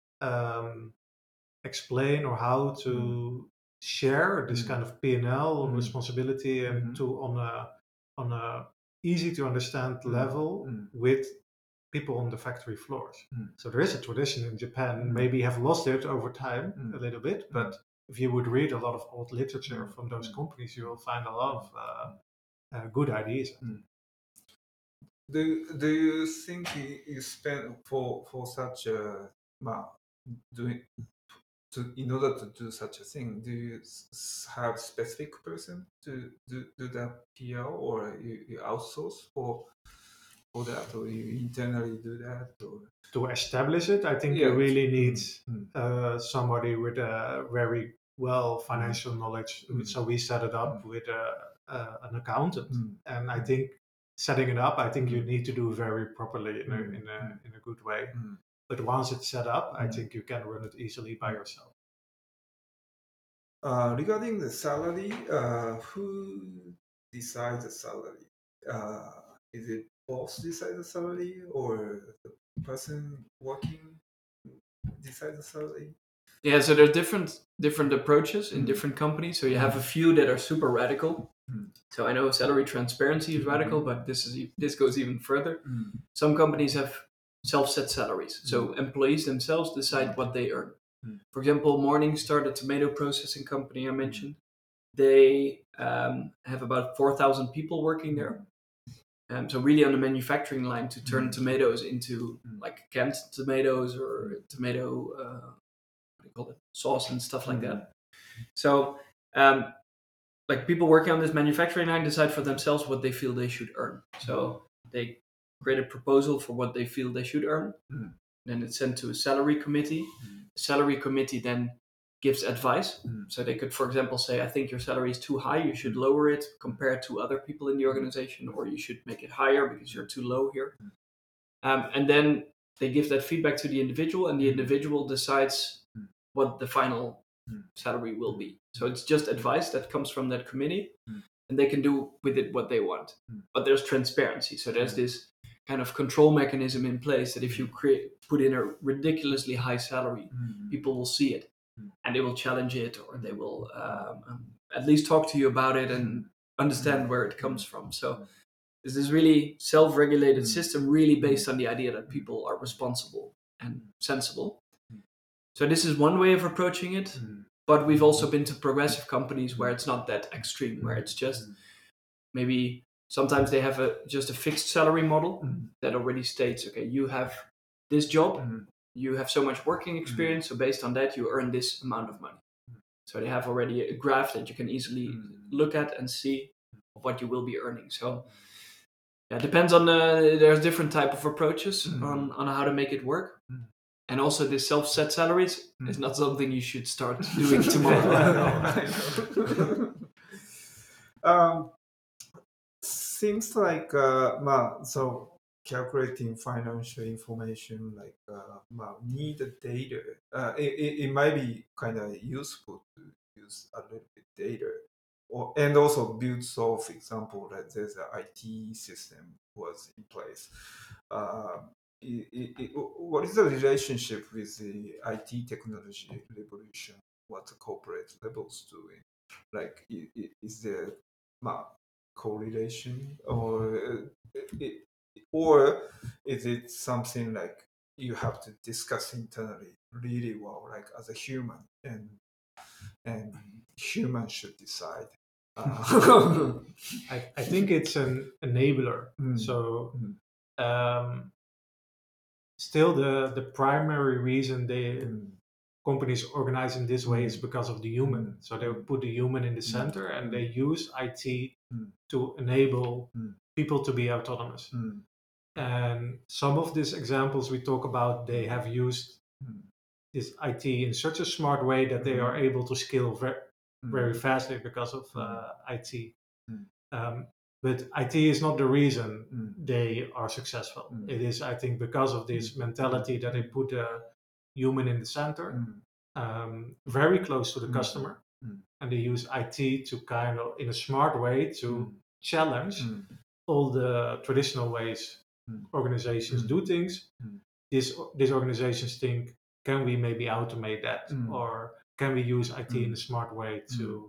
explain or how to share this kind of P&L responsibility and to on a easy to understand level with people on the factory floors. So there is a tradition in Japan, maybe have lost it over time a little bit, but if you would read a lot of old literature from those companies, you will find a lot of good ideas. Do you think you spend for such a doing in order to do such a thing? Do you have specific person to do that PR, or you outsource for that, or you internally do that? Or? To establish it, I think you really need somebody with a very well financial knowledge. So we set it up with an accountant, and I think setting it up, I think you need to do very properly in a good way. But once it's set up, I think you can run it easily by yourself. Regarding the salary, who decides the salary? Is it boss decide the salary, or the person working decide the salary? Yeah, so there are different approaches in different companies. So you have a few that are super radical. So I know salary transparency is radical, but this goes even further. Some companies have self-set salaries. So employees themselves decide what they earn. For example, Morningstar, the tomato processing company I mentioned, they have about 4,000 people working there. So really on the manufacturing line to turn tomatoes into like canned tomatoes or tomato sauce and stuff like that. So like people working on this manufacturing line decide for themselves what they feel they should earn. So they create a proposal for what they feel they should earn. Then it's sent to a salary committee. The salary committee then gives advice. So they could, for example, say, I think your salary is too high, you should lower it compared to other people in the organization, or you should make it higher because you're too low here. And then they give that feedback to the individual, and the individual decides what the final salary will be. So it's just advice that comes from that committee, and they can do with it what they want. But there's transparency. So there's this kind of control mechanism in place that if you put in a ridiculously high salary, people will see it and they will challenge it, or they will at least talk to you about it and understand where it comes from. So it's this really self-regulated system, really based on the idea that people are responsible and sensible. So this is one way of approaching it, but we've also been to progressive companies where it's not that extreme, where it's just maybe sometimes they have just a fixed salary model that already states, okay, you have this job, you have so much working experience, so based on that you earn this amount of money. So they have already a graph that you can easily look at and see what you will be earning. So yeah, it depends on there's different type of approaches on how to make it work. And also this self-set salaries is not something you should start doing tomorrow. Seems like so calculating financial information, like need the data. It might be kind of useful to use a little bit data, and also build. So, for example, that there's an IT system was in place. What is the relationship with the IT technology revolution? What the corporate levels doing? Like, is there correlation, or is it something like you have to discuss internally really well, like as a human, and humans should decide? I think it's an enabler. So still the primary reason companies organize in this way is because of the human. So they put the human in the center, and they use IT to enable people to be autonomous. And some of these examples we talk about, they have used this IT in such a smart way that they are able to scale very fastly because of IT. But IT is not the reason they are successful. It is, I think, because of this mentality that they put a human in the center, very close to the customer, and they use IT to kind of, in a smart way, to challenge all the traditional ways organizations do things. These organizations think, can we maybe automate that, or can we use IT in a smart way to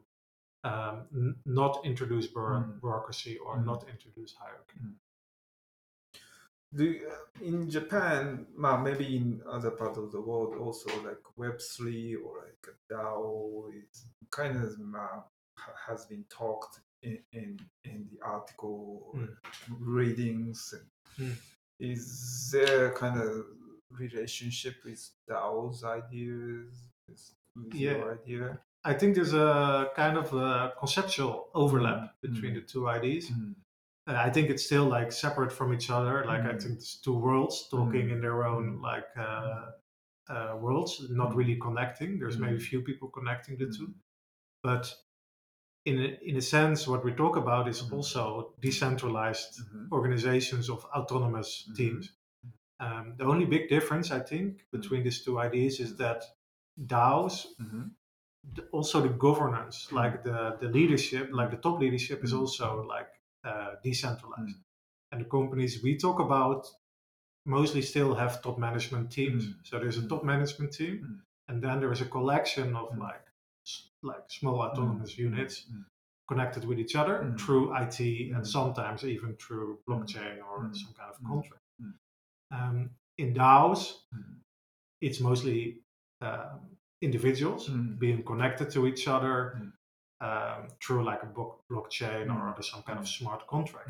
not introduce bureaucracy or not introduce hierarchy? in Japan, maybe in other part of the world also, like Web3 or like DAO is kind of has been talked in the article readings. Is there kind of relationship with DAO's ideas with your idea? I think there's a kind of a conceptual overlap between the two ideas. I think it's still like separate from each other. Like I think it's two worlds talking in their own like worlds, not really connecting. There's maybe few people connecting the two, but in a sense, what we talk about is also decentralized organizations of autonomous teams. The only big difference, I think, between these two ideas is that DAOs, also the governance, like the leadership, like the top leadership, is also like decentralized. And the companies we talk about mostly still have top management teams. So there's a top management team, and then there is a collection of like small autonomous units connected with each other through IT and sometimes even through blockchain or some kind of contract. In DAOs, it's mostly individuals being connected to each other through like a blockchain or some kind of smart contracts.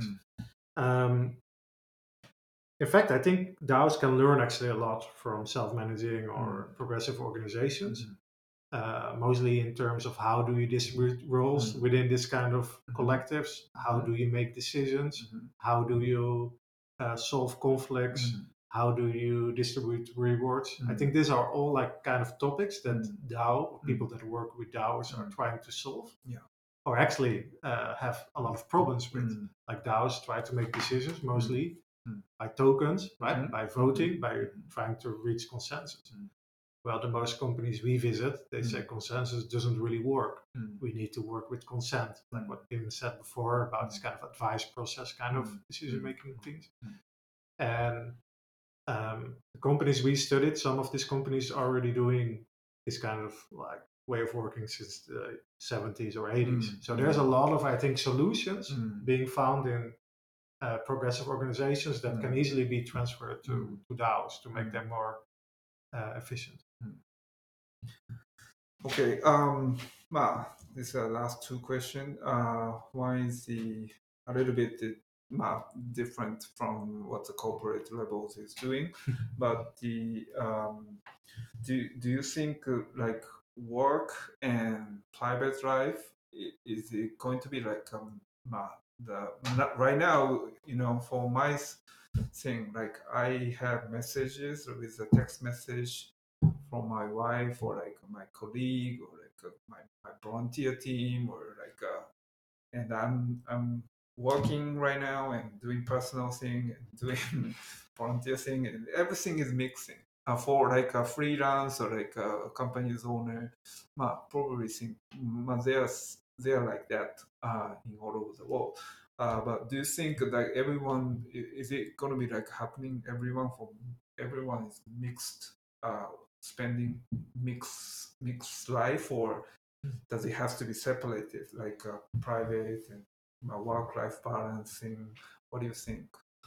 In fact, I think DAOs can learn actually a lot from self-managing or progressive organizations, mostly in terms of how do you distribute roles within this kind of collectives, how do you make decisions, how do you solve conflicts, how do you distribute rewards. I think these are all like kind of topics that DAO, people that work with DAOs are trying to solve. Or actually have a lot of problems with. Like DAOs try to make decisions mostly by tokens, right? By voting, by trying to reach consensus. Well, the most companies we visit, they say consensus doesn't really work. We need to work with consent, like what Pim said before about this kind of advice process kind of decision-making things. And the companies we studied, some of these companies are already doing this kind of like way of working since the 70s or 80s. So there's a lot of, I think, solutions being found in progressive organizations that can easily be transferred to DAOs to make them more efficient. Okay. These are the last two questions. One is a little bit different from what the corporate Rebels is doing, but do you think like work and private life is it going to be like right now, for my thing, like I have messages with a text message from my wife or like my colleague or like my volunteer team or like and I'm working right now and doing personal thing and doing volunteer thing and everything is mixing. For like a freelance or like a company's owner, probably think they're like that in all over the world. But do you think that everyone is it going to be like happening? Everyone is mixed, spending mixed life, or does it have to be separated, like private and work-life balancing? What do you think?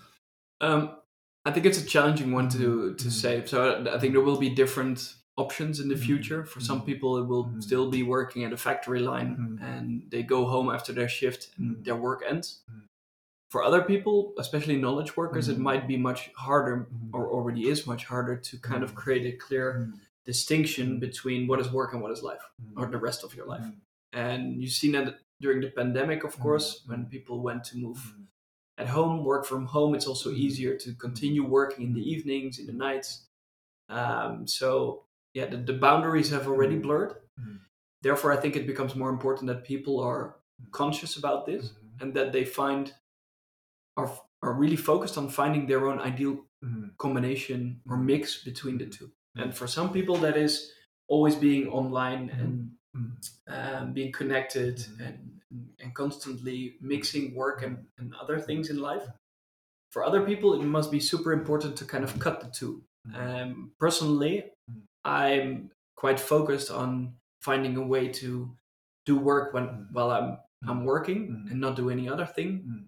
I think it's a challenging one to say. So I think there will be different options in the future. For some people, it will still be working at a factory line and they go home after their shift and their work ends. For other people, especially knowledge workers, it might be much harder, or already is much harder, to kind of create a clear distinction between what is work and what is life, or the rest of your life. And you've seen that during the pandemic, of course, when people went to move at home, work from home, it's also easier to continue working in the evenings, in the nights. So yeah, the boundaries have already blurred. Therefore, I think it becomes more important that people are conscious about this and that they are really focused on finding their own ideal combination or mix between the two. And for some people, that is always being online and being connected and constantly mixing work and other things in life. For other people, it must be super important to kind of cut the two. Personally, I'm quite focused on finding a way to do work while I'm working and not do any other thing.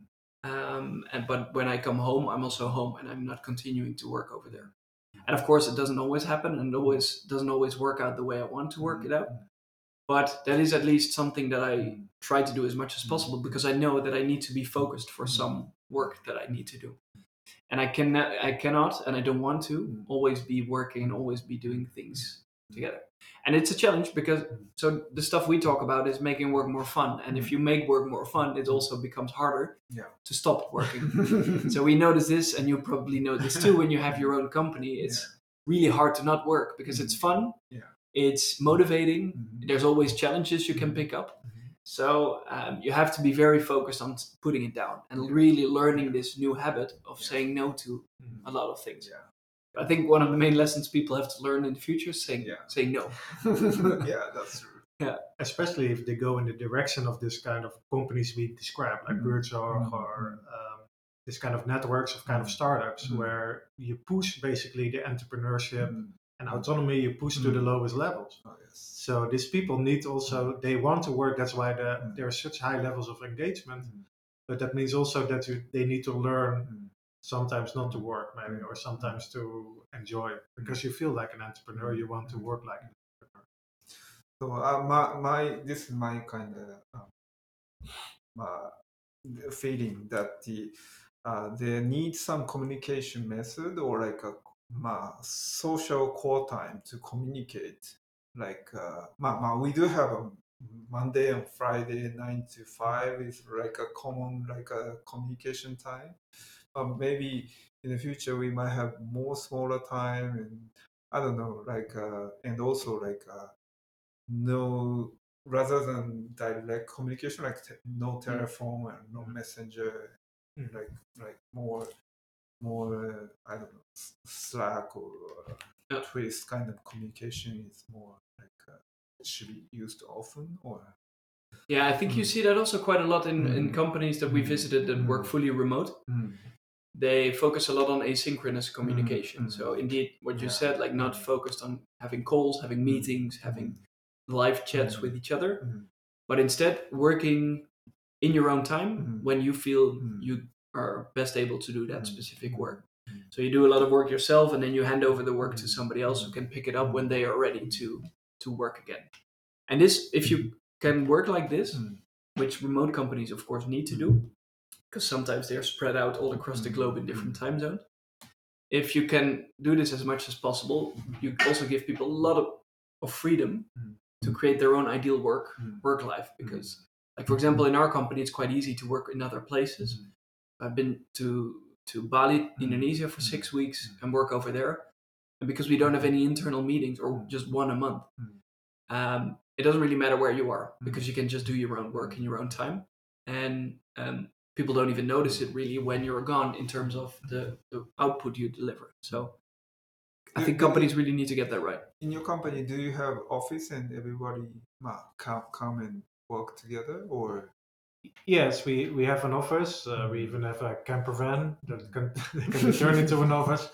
But when I come home, I'm also home, and I'm not continuing to work over there. And of course, it doesn't always happen, and doesn't always work out the way I want to work it out. But that is at least something that I try to do as much as possible, because I know that I need to be focused for some work that I need to do. And I cannot, and I don't want to always be working and always be doing things together. And it's a challenge, because so the stuff we talk about is making work more fun. And if you make work more fun, it also becomes harder to stop working. So we notice this, and you probably know this too. When you have your own company, it's really hard to not work, because it's fun. It's motivating. There's always challenges you can pick up. So you have to be very focused on putting it down and really learning this new habit of saying no to a lot of things. I think one of the main lessons people have to learn in the future is saying no. Yeah, that's true. Yeah, especially if they go in the direction of this kind of companies we describe, like Buurtzorg or this kind of networks of kind of startups, where you push basically the entrepreneurship and autonomy, you push to the lowest levels. Oh, yes. So these people need also, they want to work, that's why there are such high levels of engagement, but that means also that they need to learn sometimes not to work maybe, or sometimes to enjoy, because you feel like an entrepreneur, you want to work like an entrepreneur. So this is my kind of feeling that they need some communication method, or like a social core time to communicate. Like we do have a Monday and Friday 9 to 5 is like a common like a communication time. Maybe in the future we might have more smaller time, and I don't know, like and also like no, rather than direct communication, like no telephone and no messenger, like more I don't know, Slack or Twist kind of communication is more like should be used often, or yeah, I think you see that also quite a lot in companies that we visited that work fully remote. They focus a lot on asynchronous communication. So indeed, what you said, like not focused on having calls, having meetings, having live chats with each other, but instead working in your own time when you feel you are best able to do that specific work. So you do a lot of work yourself, and then you hand over the work to somebody else who can pick it up when they are ready to work again. And this, if you can work like this, which remote companies of course need to do, because sometimes they're spread out all across the globe in different time zones. If you can do this as much as possible, you also give people a lot of freedom to create their own ideal work life. Because, like for example, in our company, it's quite easy to work in other places. I've been to Bali, Indonesia for 6 weeks and work over there. And because we don't have any internal meetings, or just one a month, it doesn't really matter where you are, because you can just do your own work in your own time. And people don't even notice it really when you're gone in terms of the output you deliver. So I think companies really need to get that right. In your company, do you have office and everybody come and work together, or? Yes, we have an office. We even have a camper van that can be turned into an office.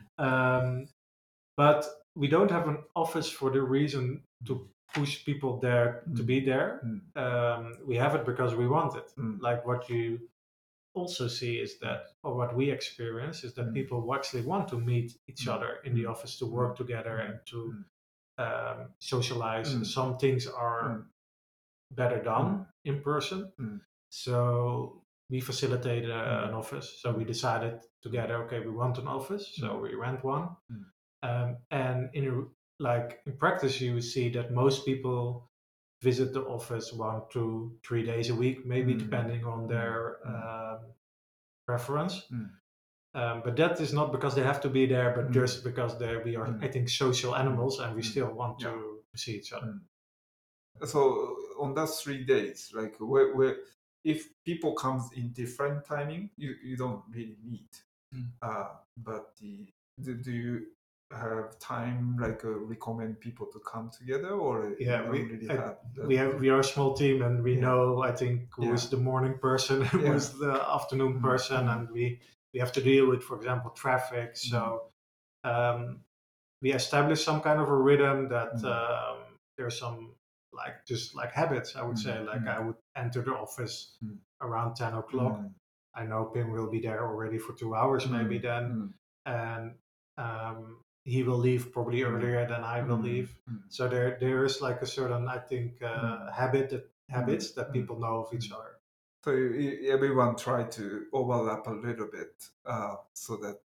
But we don't have an office for the reason to push people there to be there. We have it because we want it. Like what you also see is that, or what we experience is that people actually want to meet each other in the office, to work together and to socialize. Some things are better done in person. So we facilitated an office. So we decided together, okay, we want an office, so we rent one. And in practice, you see that most people visit the office 1 to 3 days a week, maybe depending on their preference. But that is not because they have to be there, but just because we are, I think, social animals, and we still want to see each other. So on those 3 days, like where if people comes in different timing, you don't really meet. But do you have time, like recommend people to come together, or we are a small team, and we know, I think, who is the morning person, who is the afternoon person, and we have to deal with, for example, traffic. So we establish some kind of a rhythm that there's some just like habits, I would say. Like I would enter the office around 10 o'clock. I know Pim will be there already for 2 hours maybe then, and he will leave probably earlier than I will leave. So there is like a certain, I think, habits that people know of each other. So everyone try to overlap a little bit so that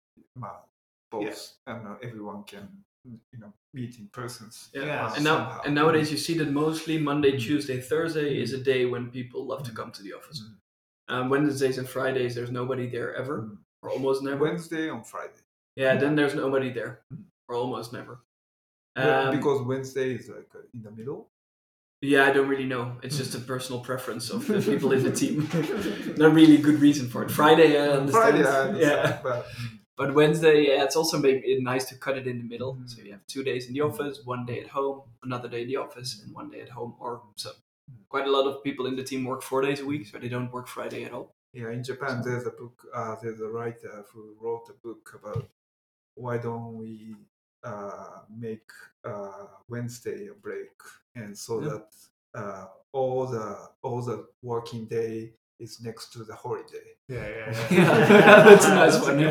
both and everyone can meet in person. And nowadays you see that mostly Monday, Tuesday, Thursday is a day when people love to come to the office. Wednesdays and Fridays there's nobody there ever, or almost never. Wednesday on Friday. Yeah, then there's nobody there, or almost never. Because Wednesday is like in the middle. Yeah, I don't really know. It's just a personal preference of the people in the team. Not really a good reason for it. Friday, I understand. But Wednesday, it's also maybe nice to cut it in the middle. So you have 2 days in the office, 1 day at home, another day in the office, and 1 day at home. Or so. Quite a lot of people in the team work 4 days a week, so they don't work Friday at all. Yeah, in Japan, there's a book. There's a writer who wrote a book about why don't we make Wednesday a break, and so that all the working day is next to the holiday. Yeah, that's a nice one.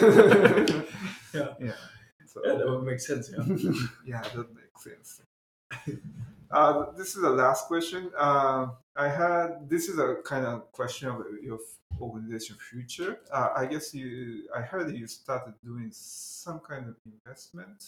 Yeah. So, that would make sense. Yeah, that makes sense. This is the last question. This is a kind of question of your organization future. I guess I heard you started doing some kind of investment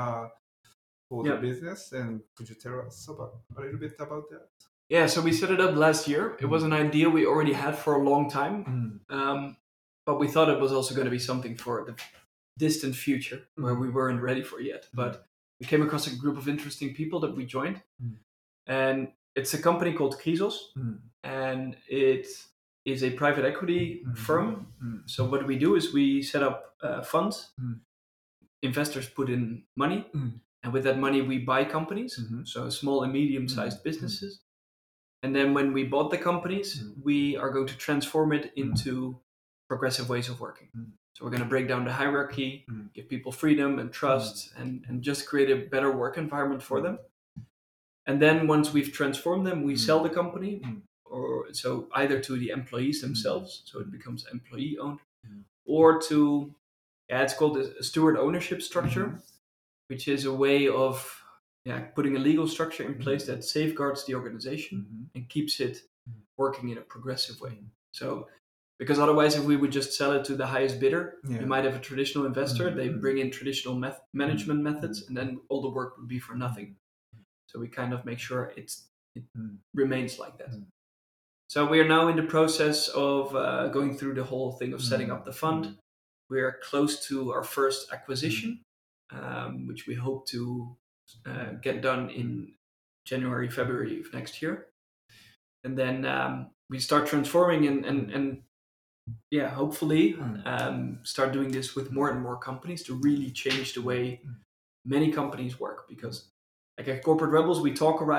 for the business, and could you tell us a little bit about that? Yeah, so we set it up last year. It was an idea we already had for a long time, but we thought it was also going to be something for the distant future where we weren't ready for yet. But we came across a group of interesting people that we joined, and it's a company called Chrysos, and it is a private equity firm. So what we do is we set up funds. Investors put in money, and with that money we buy companies, so small and medium-sized businesses. And then when we bought the companies, we are going to transform it into progressive ways of working. So we're going to break down the hierarchy, give people freedom and trust, and just create a better work environment for them. And then once we've transformed them, we sell the company, or so either to the employees themselves, so it becomes employee owned, or to, it's called a steward ownership structure, which is a way of putting a legal structure in place that safeguards the organization and keeps it working in a progressive way. So, because otherwise, if we would just sell it to the highest bidder, you might have a traditional investor. They bring in traditional management methods, and then all the work would be for nothing. So we kind of make sure it remains like that. So we are now in the process of going through the whole thing of setting up the fund. We are close to our first acquisition, which we hope to get done in January, February of next year. And then we start transforming and hopefully start doing this with more and more companies to really change the way many companies work. Because like at Corporate Rebels, we talk a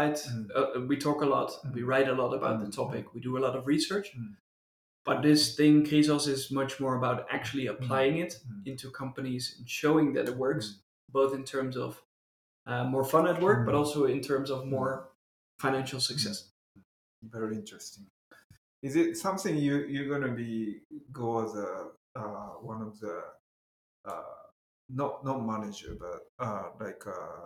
lot, we write a lot about the topic, we do a lot of research. But this thing, Chrysos, is much more about actually applying it into companies and showing that it works, both in terms of more fun at work, but also in terms of more financial success. Very interesting. Is it something you're going to go as one of the not manager, but like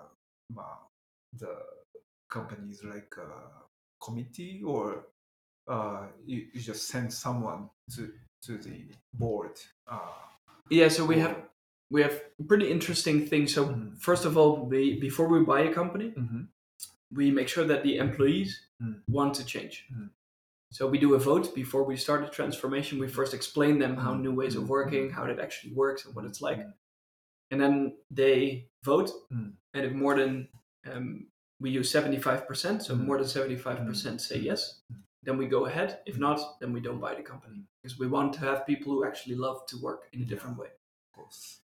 the company's like committee, or you just send someone to the board? So we have pretty interesting things. So first of all, before we buy a company, we make sure that the employees want to change. So we do a vote before we start the transformation. We first explain them how new ways of working, how that actually works, and what it's like. And then they vote, and if more than we use 75%, so more than 75% say yes, then we go ahead. If not, then we don't buy the company, because we want to have people who actually love to work in a different way. Of course.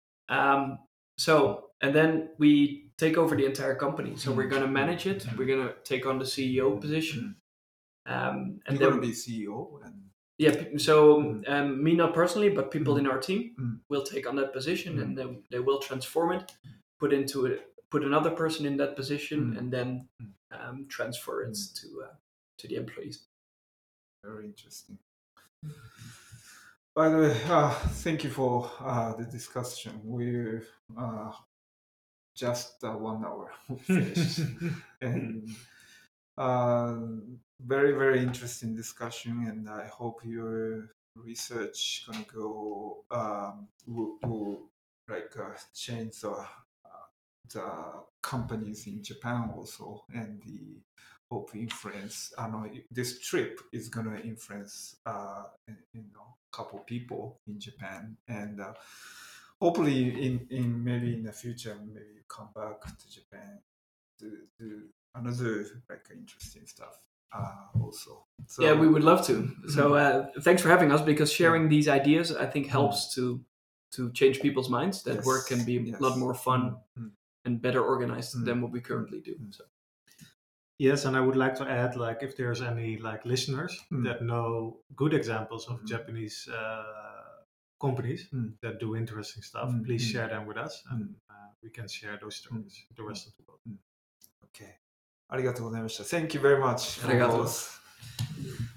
And then we take over the entire company. So we're going to manage it. We're going to take on the CEO position. And you're going to be CEO? Me not personally, but people in our team will take on that position, and then they will transform it, put another person in that position, and then transfer it to the employees. Very interesting. By the way, thank you for the discussion. We just 1 hour finished, and uh, very very interesting discussion. And I hope your research gonna go will like change the companies in Japan also, and the hope influence. I know this trip is gonna influence couple people in Japan, and hopefully in maybe in the future maybe you come back to Japan to do another like interesting stuff also. So Yeah, we would love to. So thanks for having us, because sharing these ideas, I think, helps to change people's minds that work can be a lot more fun and better organized than what we currently do. So. Yes, and I would like to add, like, if there's any like listeners that know good examples of Japanese companies that do interesting stuff, please share them with us, and we can share those stories with the rest of the world. Okay. ありがとうございました。Thank you very much. ありがとうございます。